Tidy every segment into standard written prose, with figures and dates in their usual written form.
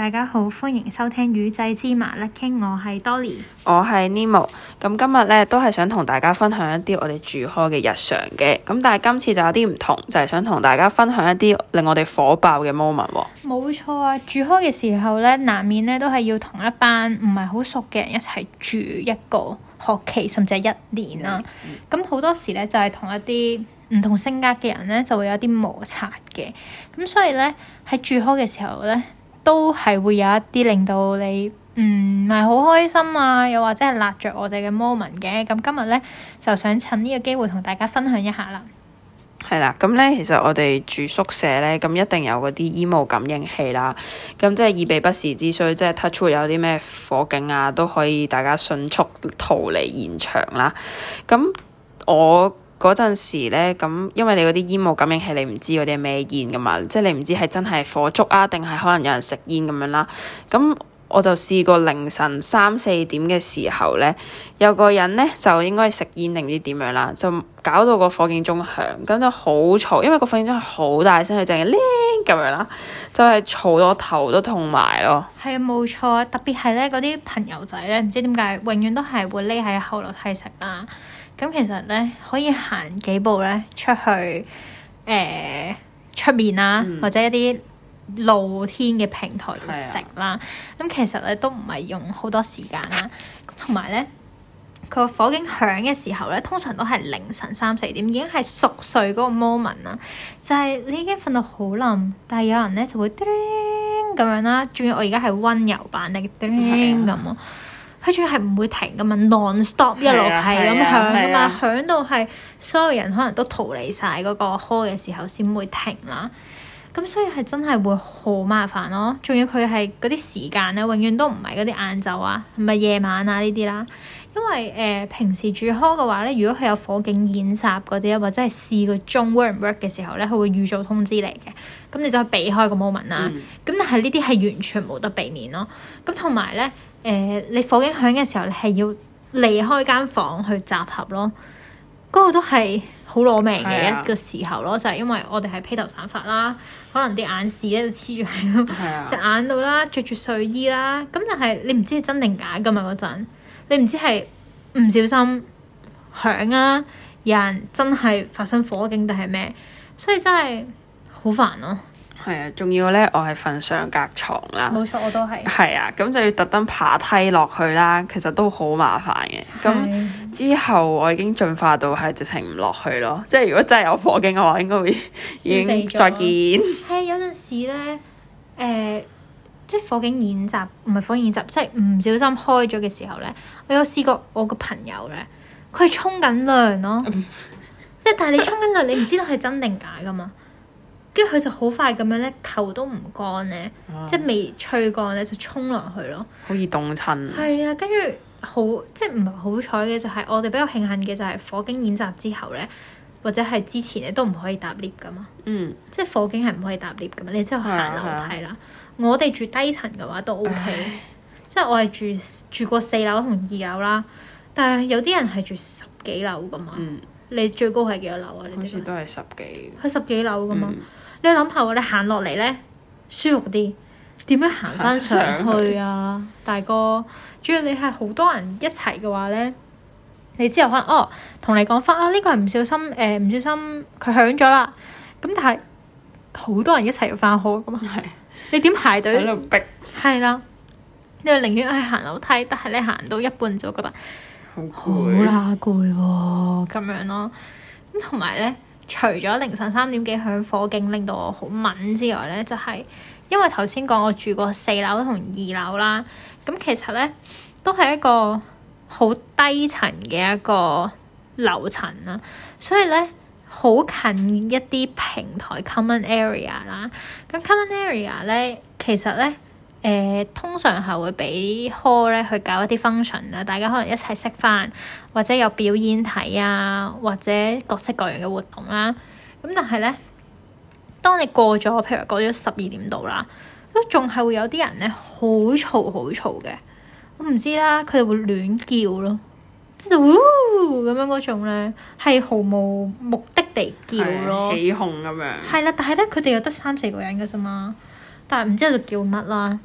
大家好，歡迎收聽魚仔芝麻甩傾，我係 Dolly， 我係 Nemo。咁今日咧都係想同大家分享一啲我哋住開嘅日常嘅，咁但係今次就有啲唔同，就係想同大家分享一啲令我哋火爆嘅 moment 喎。 冇錯啊，住開嘅時候咧，難免咧都係要同一班唔係好熟嘅人一齊住一個學期，甚至係一年啦。咁好多時咧就係同一啲唔同性格嘅人咧，就會有啲摩擦嘅。咁所以咧喺住開嘅時候咧，都係會有一啲令到你唔係好開心啊，又或者係辣着我哋嘅 moment 嘅。咁今日咧就想趁呢個機會同大家分享一下啦。 係啦，咁咧其實我哋住宿舍咧，咁一定有嗰啲煙霧感應器啦。咁即係以備不時之需，即係 touch wood 有啲咩火警啊，都可以大家迅速逃離現場啦。咁我嗰陣時咧，咁因為你嗰啲煙霧感應器，你唔知嗰啲係咩煙噶嘛，即係你唔知係真係火燭啊，定係可能有人食煙咁樣啦。咁我就試過凌晨3-4點嘅時候咧，有個人咧就應該係食煙定唔知點樣啦，就搞到個火警鐘響，咁就好嘈，因為個火警鐘係好大聲，佢淨係鈴咁樣啦，就係嘈到頭都痛埋咯。 係啊，冇錯啊，特別係咧嗰啲朋友仔咧，唔知點解永遠都係會匿喺後樓梯食啦。咁其實咧可以行幾步咧出去出面啦，或者一啲露天嘅平台度食啦。咁其實咧都唔係用好多時間啦。同埋咧，佢個火警響嘅時候咧，通常都係凌晨3-4點，已經係熟睡嗰個 moment 啦。就係你已經瞓到好冧，但係有人咧就會叮咁樣啦。仲要我而家係溫柔版嘅叮咁咯。佢仲要係唔會停噶嘛 ，non-stop 一路係咁響噶嘛，響到係所有人可能都逃離晒嗰個 hall 嘅時候先會停啦。咁所以係真係會好麻煩咯。仲要佢係嗰啲時間咧，永遠都唔係嗰啲晏晝啊，唔係夜晚啊呢啲啦。因為平時住 hall 嘅話咧，如果佢有火警演習嗰啲啊，或者係試個鐘 work 唔 work 嘅時候咧，佢會預早通知你嘅。咁你就可以避開個 moment 啦。咁但係呢啲係完全冇得避免咯。咁同埋咧。你火警響嘅時候，你係要離開間房去集合咯。嗰個都係好攞命嘅一個時候咯，就係因為我哋係披頭散髮啦，可能啲眼屎咧都黐住喺隻眼度啦，着住睡衣啦。咁但係你唔知係真定假噶嘛嗰陣，你唔知係唔小心響啊，有人真係發生火警定係咩，所以真係好煩咯。 係啊，仲要咧，我係瞓上格床啦。 冇錯，我都係。係啊，咁就要特登爬梯落去啦，其實都好麻煩嘅。咁之後我已經進化到係直情唔落去咯。即係如果真係有火警嘅話，應該會已經再見。 係有陣時咧，即係火警演習，唔係火警演習，即係唔小心開咗嘅時候咧，我有試過我個朋友咧，佢係沖緊涼咯。即係但係你沖緊涼，你唔知道係真定假噶嘛？跟住佢就好快咁樣咧，頭都唔乾咧，即係未吹乾咧，就衝落去咯。 好易凍親。係啊，跟住好即係唔係好彩嘅就係我哋比較慶幸嘅就係火警演習之後咧，或者係之前咧都唔可以搭 lift 噶嘛。即係火警係唔可以搭 lift 噶嘛，你之後行樓梯啦。我哋住低層嘅話都 OK，即係我係住過4樓同2樓啦，但係有啲人係住10幾樓噶嘛。你最高係幾多樓啊？ 好似都係10幾。 佢10幾樓噶嘛？你諗下喎，你行落嚟咧舒服啲，點樣行翻上去啊，大哥？主要你係好多人一齊嘅話咧，你之後可能同你講翻呢個係唔小心佢響咗啦。咁但係好多人一齊要翻學噶嘛，你點排隊？喺度逼。係啦，你寧願係行樓梯，但係你行到一半就覺得好啦攰喎，咁樣咯。咁同埋咧。除咗凌晨3點幾響火警令到我好敏之外咧，就係因為頭先講我住過4樓同2樓啦，咁其實咧都係一個好低層嘅一個樓層啦，所以咧好近一啲平台 common area 啦。咁 common area 咧，其實咧通常係會俾 hall 咧去搞一啲 function 啦，大家可能一齊食飯，或者有表演睇啊，或者各式各樣嘅活動啦。咁但係咧，當你過咗，譬如過咗12點度啦，都仲係會有啲人咧好嘈嘅。我唔知啦，佢哋會亂叫咯，即係咁樣嗰種咧，係毫無目的地叫咯， 起哄咁樣。 係啦，但係咧佢哋又得3-4個人嘅啫嘛，但係唔知喺度叫乜啦。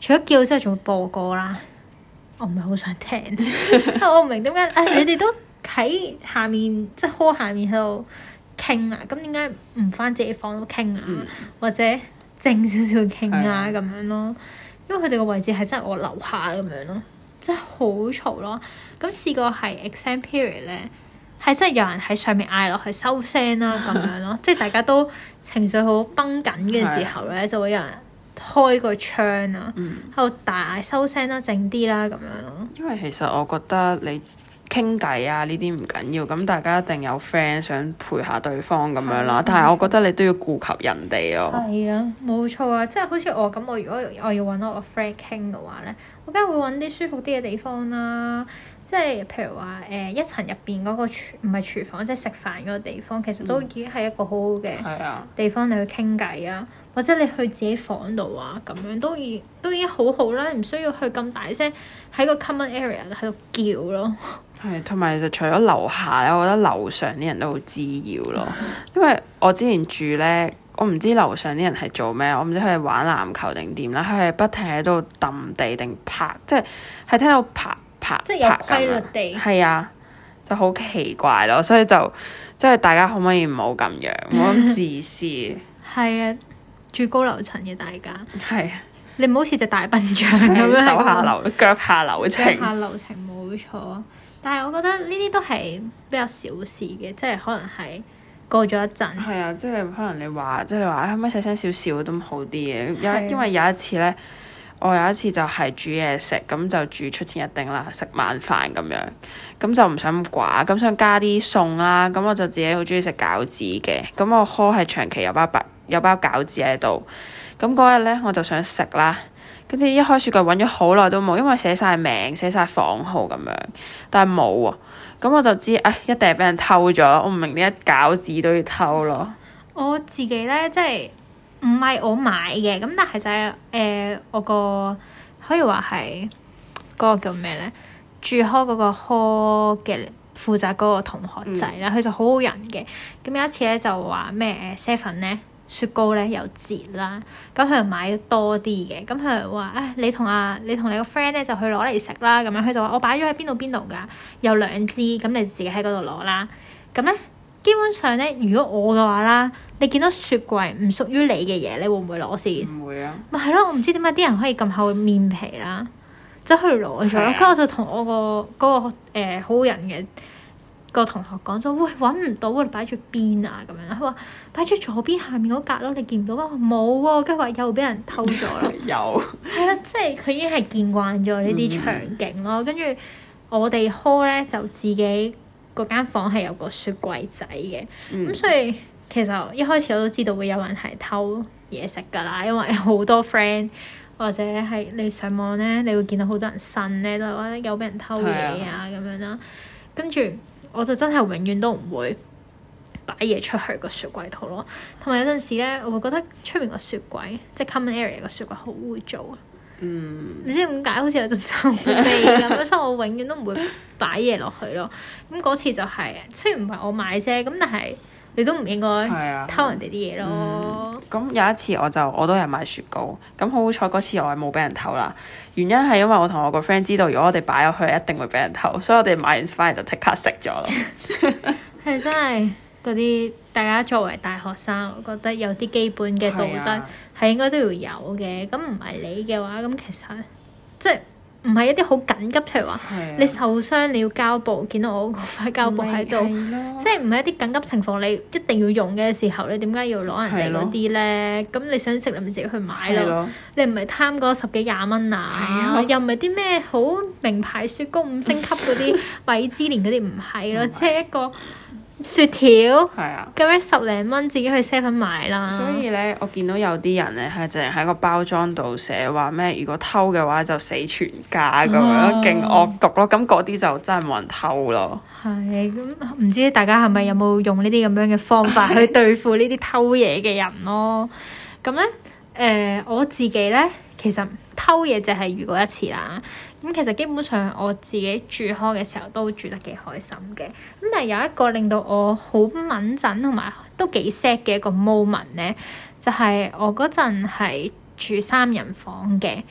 除咗叫之後，仲會播歌啦。我唔係好想聽，我唔明點解你哋都喺下面，即係 hall 下面喺度傾啊，咁點解唔返自己房度傾啊？或者靜少少傾啊咁樣咯？因為佢哋個位置係真係我樓下咁樣咯，真係好嘈咯。咁試過係 exam period 咧，係真係有人喺上面嗌落去收聲啦咁樣咯，即係大家都情緒好繃緊嘅時候咧，就會有人開個窗啊，喺度大嗌收聲啦，靜啲啦咁樣咯。因為其實我覺得你傾偈啊呢啲唔緊要，咁大家一定有 friend 想陪下對方咁樣啦。但係我覺得你都要顧及人哋咯。係啊，冇錯啊，即係好似我咁，我如果我要揾我個 friend 傾嘅話咧，我梗係會揾啲舒服啲嘅地方啦。即係譬如話一層入邊嗰個唔係廚房，即係食飯嗰個地方，其實都已經係一個好好嘅地方你去傾偈啊，或者你去自己房度啊，咁樣都已經好好啦，唔需要去咁大聲喺個 common area 喺度叫咯。 係，同埋其實除咗樓下咧，我覺得樓上啲人都好滋擾咯。因為我之前住咧，我唔知樓上啲人係做咩，我唔知佢係玩籃球定點啦，佢係不停喺度揼地定拍，即係聽到拍。即係有規律地，係啊，就好奇怪咯，所以就即係大家可唔可以唔好咁樣，唔好咁自私。係啊，住高樓層嘅大家， 係啊， 你唔好似隻大笨象咁樣， 手下留腳下留情， 腳下留情冇錯。但係我覺得呢啲都係比較小事嘅，即係可能係過咗一陣。 係啊，即係可能你話，即係你話，可唔可以細聲少少都好啲嘅？因為有一次咧。我有一次就係煮嘢食，咁就煮出前一丁啦，食晚飯咁樣，咁就唔想咁寡，咁想加啲餸啦，咁我就自己好中意食餃子嘅，咁我呵係長期有包餃子喺度，咁嗰日咧我就想食啦，跟住一開雪櫃揾咗好耐都冇，因為寫晒名、寫晒房號咁樣，但係冇喎，咁我就知一定係俾人偷咗，我唔明點解餃子都要偷咯。 我自己咧即係。唔係我買嘅，咁但係就係我個可以話係嗰個叫咩咧？住開嗰個科嘅負責嗰個同學仔啦，佢就好好人嘅。咁有一次咧就話咩7咧雪糕咧有折啦，咁佢就買多啲嘅。咁佢就話你同你個 friend 咧就去攞嚟食啦。咁樣佢就話我擺咗喺邊度㗎，有2支，咁你自己喺嗰度攞啦。咁咧。基本上咧，如果我嘅話啦，你見到雪櫃唔屬於你嘅嘢，你會唔會攞先？唔會啊！咪係咯，我唔知點解啲人可以咁厚面皮啦，走去攞咗啦。跟住我就同我嗰個好人嘅個同學講咗，喂，揾唔到啊！擺住邊啊？咁樣佢話擺住左邊下面嗰格咯，你見唔到啊？冇喎，跟住話又俾人偷咗啦。有。係啦，即係佢已經係見慣咗呢啲場景咯。跟住我哋 hall 咧就自己。嗰間房係有個雪櫃仔嘅，咁所以其實一開始我都知道會有人係偷嘢食㗎啦，因為好多 friend 或者係你上網咧，你會見到好多人呻咧，都係話有俾人偷嘢啊咁樣啦。跟住我就真係永遠都唔會擺嘢出去個雪櫃度咯。同埋有陣時咧，我會覺得出面個雪櫃，即係 common area 個雪櫃好污糟啊。唔知點解好似有陣臭味咁，所以我永遠都唔會擺嘢落去咯。咁嗰次就係、雖然唔係我買啫，咁但係你都唔應該偷人哋啲嘢咯。 咁有一次我都係買雪糕，咁好彩嗰次我係冇俾人偷啦。原因係因為我同我個 friend 知道，如果我哋擺落去一定會俾人偷，所以我哋買完翻嚟就即刻食咗咯。 係真係嗰啲大家作為大學生，我覺得有啲基本嘅道德係應該都要有嘅。咁唔係你嘅話，咁其實即係唔係一啲好緊急，譬如話你受傷你要膠布，見到我嗰塊膠布喺度，即係唔係一啲緊急情況你一定要用嘅時候，你點解要攞人哋嗰啲咧？咁你想食你咪自己去買咯。你唔係貪嗰10幾20蚊啊，又唔係啲咩好名牌雪糕5星級嗰啲米芝蓮嗰啲，唔係咯，即係一個雪條，咁樣10零蚊自己去 7買啦。 所以咧，我見到有啲人咧係淨係喺個包裝度寫話咩，如果偷嘅話就死全家咁樣，勁惡毒咯。咁嗰啲就真係冇人偷咯。係咁，唔知大家係咪有冇用呢啲咁樣嘅方法去對付呢啲偷嘢嘅人咯？咁咧，我自己咧其實偷嘢就係遇過一次啦。咁其實基本上我自己住開嘅時候都住得幾開心嘅。咁但係有一個令到我好敏感同埋都幾 sad 嘅一個 moment 咧，就係我嗰陣係住3人房嘅。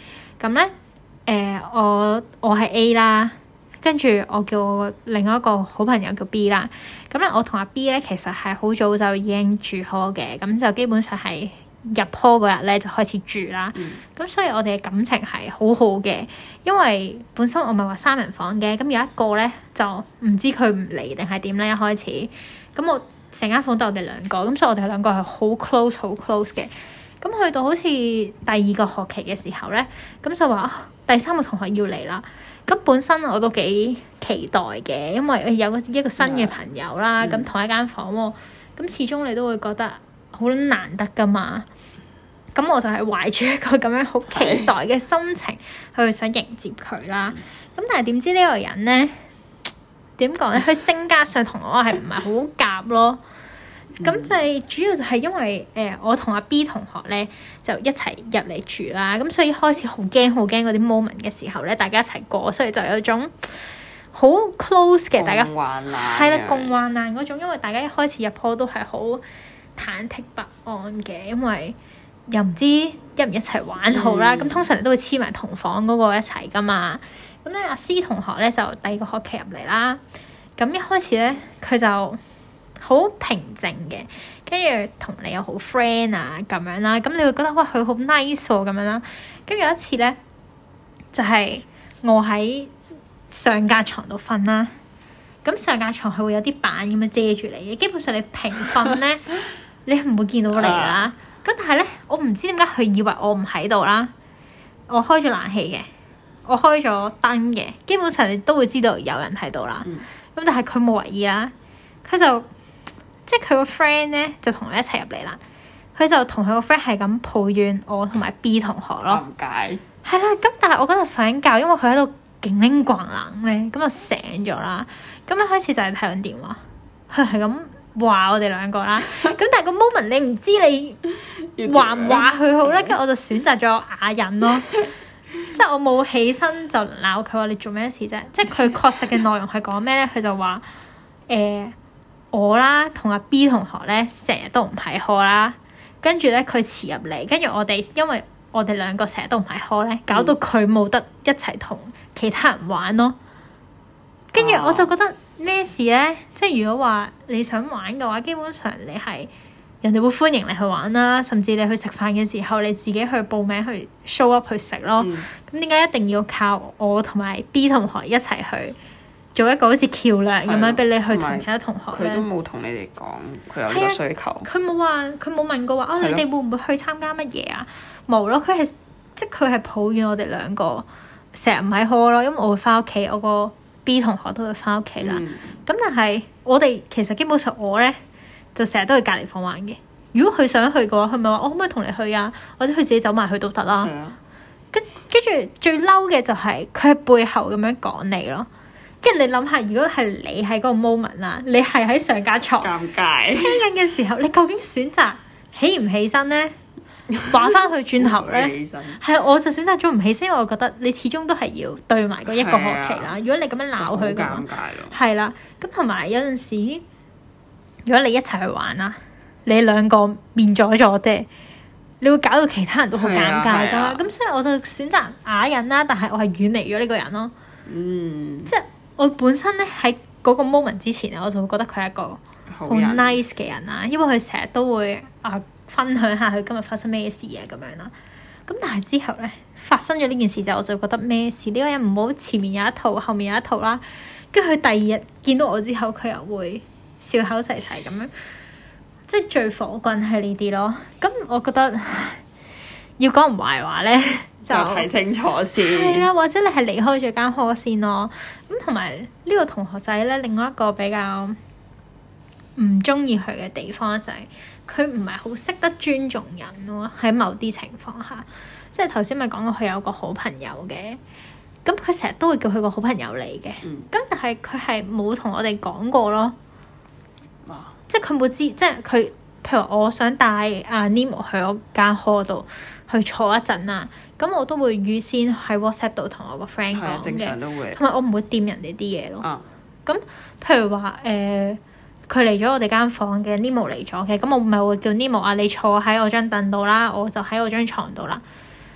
咁咧我係 A 啦，跟住我叫我另外一個好朋友叫 B 啦。咁咧我同阿 B 咧其實係好早就已經住 hall 嘅，咁就基本上係入 hall 嗰日咧就開始住啦。咁所以我哋嘅感情係好好嘅，因為本身我咪話3人房嘅，咁有一個咧就唔知佢唔嚟定係點咧一開始，咁我成間房都我哋兩個，咁所以我哋兩個係好 close 嘅。咁去到好似第2個學期嘅時候咧，咁就話第3個同學要嚟啦。咁本身我都幾期待嘅，因為有一個新嘅朋友啦，咁同一間房喎，咁始終你都會覺得好難得噶嘛。咁我就係懷住一個咁樣好期待嘅心情去想迎接佢啦。咁但係點知呢個人咧，點講咧？佢性格上同我係唔係好夾咯？咁就係主要就係因為我同阿 B 同學咧就一齊入嚟住啦，咁所以開始好驚嗰啲 moment 嘅時候咧，大家一齊過，所以就有種好 close 嘅大家係啦，共患難嗰種，因為大家一開始入鋪都係好忐忑不安嘅，因為又唔知一唔一齊玩好啦。咁通常都會黐埋同房嗰個一齊噶嘛。咁咧阿 C 同學咧就第2個學期入嚟啦，咁一開始咧佢就好平靜嘅，跟住同你又好 friend 啊咁樣啦，咁你會覺得哇佢好 nice 喎咁樣啦。跟住有一次咧，就係我喺上架床度瞓啦，咁上架床係會有啲板咁樣遮住你嘅，基本上你平瞓咧，你唔會見到你啦。咁但係咧，我唔知點解佢以為我唔喺度啦，我開咗冷氣嘅，我開咗燈嘅，基本上你都會知道有人喺度啦。咁但係佢冇為意啦，佢就即係佢個 friend 咧就同我一齊入嚟啦，佢就同佢個 friend 係咁抱怨我同埋 B 同學咯。點解？係啦，咁但係我嗰日瞓緊覺，因為佢喺度勁拎咣冷咧，咁就醒咗啦。咁一開始就係睇緊電話，佢係咁話我哋兩個啦。咁但係個 moment 你唔知你話唔話佢好咧，跟住我就選擇咗啞忍咯。即係我冇起身就鬧佢話你做咩事啫。即係佢確實嘅內容係講咩咧？佢就話我啦同阿 B 同學咧成日都唔喺 hall 啦，跟住咧佢遲入嚟，跟住我哋因為我哋兩個成日都唔喺 hall 咧，搞到佢冇得一齊同其他人玩咯。跟住我就覺得咩事咧？即係如果話你想玩嘅話，基本上你係人哋會歡迎你去玩啦，甚至你去食飯嘅時候，你自己去報名去 show up 去食咯。咁點解一定要靠我同埋 B 同學一齊去做一個好似橋樑咁樣俾你去同其他同學咧？ 佢都冇同你哋講佢有呢個需求。 佢冇話，佢冇問過話你哋會唔會去參加乜嘢啊？冇咯，佢係抱怨我哋兩個成日唔喺 hall 咯，因為我會翻屋企，我個 B 同學都會翻屋企啦。咁但係我哋其實基本上我咧就成日都去隔離房玩嘅。如果佢想去嘅話，佢咪話我可唔可以同你去啊？或者佢自己走埋去都得啦。跟住最嬲嘅就係佢喺背後咁樣講你咯。跟住你諗下，如果係你喺嗰個 moment 啦，你係喺上架床尷尬聽緊嘅時候，你究竟選擇起唔起身咧？話翻去轉頭咧，係我就選擇咗唔起身，因為我覺得你始終都係要對埋嗰一個學期啦。如果你咁樣鬧佢嘅話，係啦。咁同埋有陣時，如果你一齊去玩啦，你兩個面咗啫，你會搞到其他人都好尷尬噶嘛。咁所以我就選擇啞忍啦，但係我係遠離咗呢個人咯。即係我本身咧喺嗰個 moment 之前咧，我就會覺得佢係一個好 nice 嘅人啦，因為佢成日都會分享下佢今日發生咩事啊咁樣啦。咁但係之後咧發生咗呢件事之後，我就覺得咩事？呢個人唔好前面有一套，後面有一套啦。跟住佢第2日見到我之後，佢又會笑口齊齊咁樣，即係最火滾係呢啲咯。咁我覺得要講唔壞話咧，就睇清楚先。 係啊，或者你係離開咗間 hall 先咯。咁同埋呢個同學仔咧，另外一個比較唔中意佢嘅地方就係佢唔係好識得尊重人咯。喺某啲情況下，即係頭先咪講過佢有個好朋友嘅，咁佢成日都會叫佢個好朋友嚟嘅。咁但係佢係冇同我哋講過咯。即係佢冇知，即係佢譬如我想帶阿 Nemo 去我間 hall 度去坐一陣啊，咁我都會預先喺 WhatsApp 度同我個 friend 講嘅，正常都會，同埋我唔會掂人哋啲嘢咯。咁譬如話佢嚟咗我哋間房嘅 Nemo 嚟咗嘅，咁我咪會叫 Nemo 你坐喺我張凳度啦，我就喺我張床度啦。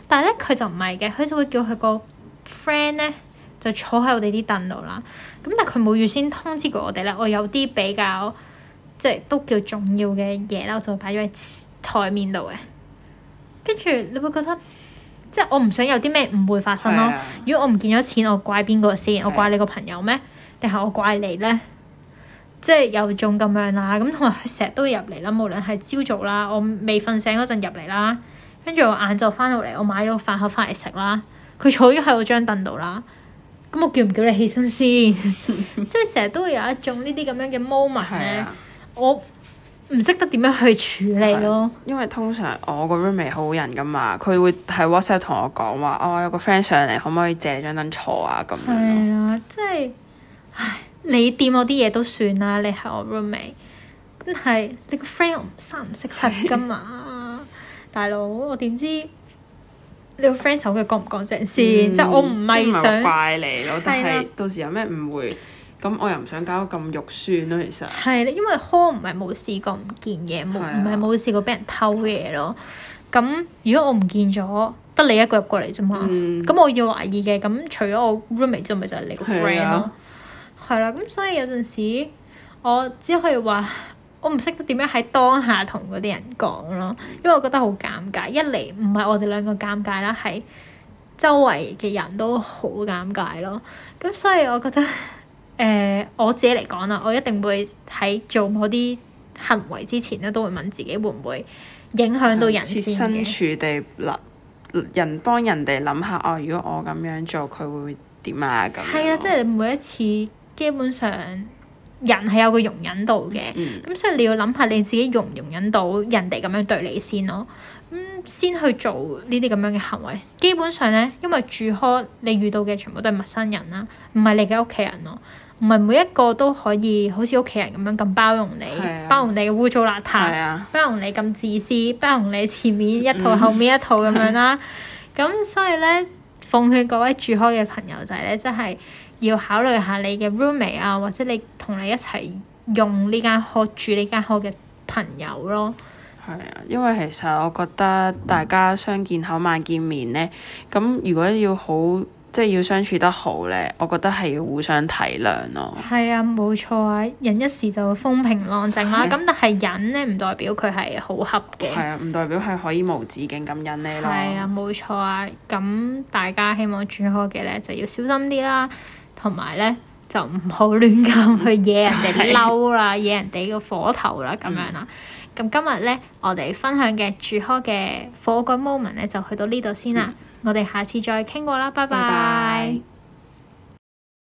但係咧佢就唔係嘅，佢就會叫佢個 friend 咧就坐喺我哋啲凳度啦。咁但係佢冇預先通知過我哋咧，我有啲比較即係都叫重要嘅嘢啦，我就擺咗喺台面度嘅。跟住你會覺得即係我唔想有啲咩誤會發生咯。如果我唔見咗錢，我怪邊個先？我怪你個朋友咩？定係我怪你咧？即係有種咁樣啦。咁同埋佢成日都入嚟啦，無論係朝早啦，我未瞓醒嗰陣入嚟啦，跟住我晏晝翻到嚟，我買咗個飯盒翻嚟食啦。佢坐咗喺我張凳度啦。咁我叫唔叫你起身先？即係成日都會有一種呢啲咁樣嘅 moment 咧，我唔識得點樣去處理咯。 因為通常我個 roommate 好人噶嘛，佢會喺 WhatsApp 同我講話，我有個 friend 上嚟，可唔可以借你張凳坐啊？咁樣。係啊，即係，唉，你掂我啲嘢都算啦，你係我 roommate，但係你個 friend 三唔識七噶嘛，大佬，我點知？你個 friend 手腳乾唔乾淨先？即係我唔係想怪你咯，但係到時有咩誤會，咁我又唔想搞到咁肉酸咯。其實係啦，因為科唔係冇試過唔見嘢，唔係冇試過俾人偷嘢咯。咁如果我唔見咗，得你一個入過嚟啫嘛。咁我要懷疑嘅，咁除咗我 roommate 之外，咪就係你個 friend 咯。係啦，咁所以有陣時我只可以話。我唔識得點樣喺當下同嗰啲人講咯，因為我覺得好尷尬。一嚟唔係我哋兩個尷尬啦，係周圍嘅人都好尷尬咯。咁所以我覺得，我自己嚟講啦，我一定會喺做某啲行為之前咧，都會問自己會唔會影響到人先嘅。設身處地幫人哋諗下，哦，如果我咁樣做，佢會點啊？咁係啊，即係你每一次基本上。人係有個容忍度嘅，咁所以你要諗下你自己容唔容忍到人哋咁樣對你先咯。先去做呢啲咁樣嘅行為。基本上咧，因為住開你遇到嘅全部都係陌生人啦，唔係你嘅屋企人咯，唔係每一個都可以好似屋企人咁樣咁包容你，包容你嘅污糟邋遢，包容你咁自私，包容你前面一套後面一套咁樣啦。咁所以咧，奉勸各位住開嘅朋友仔咧，真係。要考慮下你嘅 roommate 啊，或者你同你一齊用呢間 hall 住呢間 hall 嘅朋友咯。 係啊，因為其實我覺得大家相見口晚見面咧，咁如果要好即係要相處得好咧，我覺得係要互相體諒咯。係啊，冇錯啊，忍一時就風平浪靜啦。咁但係忍咧，唔代表佢係好恰嘅。係啊， 唔代表係可以無止境咁忍你咯。 係啊，冇錯啊。咁大家希望住 hall 嘅咧就要小心啲啦。同埋咧，就唔好亂咁去惹人哋嬲啦，惹人哋個火頭啦，咁樣啦。咁今日咧，我哋分享嘅住 hall 嘅火滾 moment 咧，就去到呢度先啦。我哋下次再傾過啦，拜拜。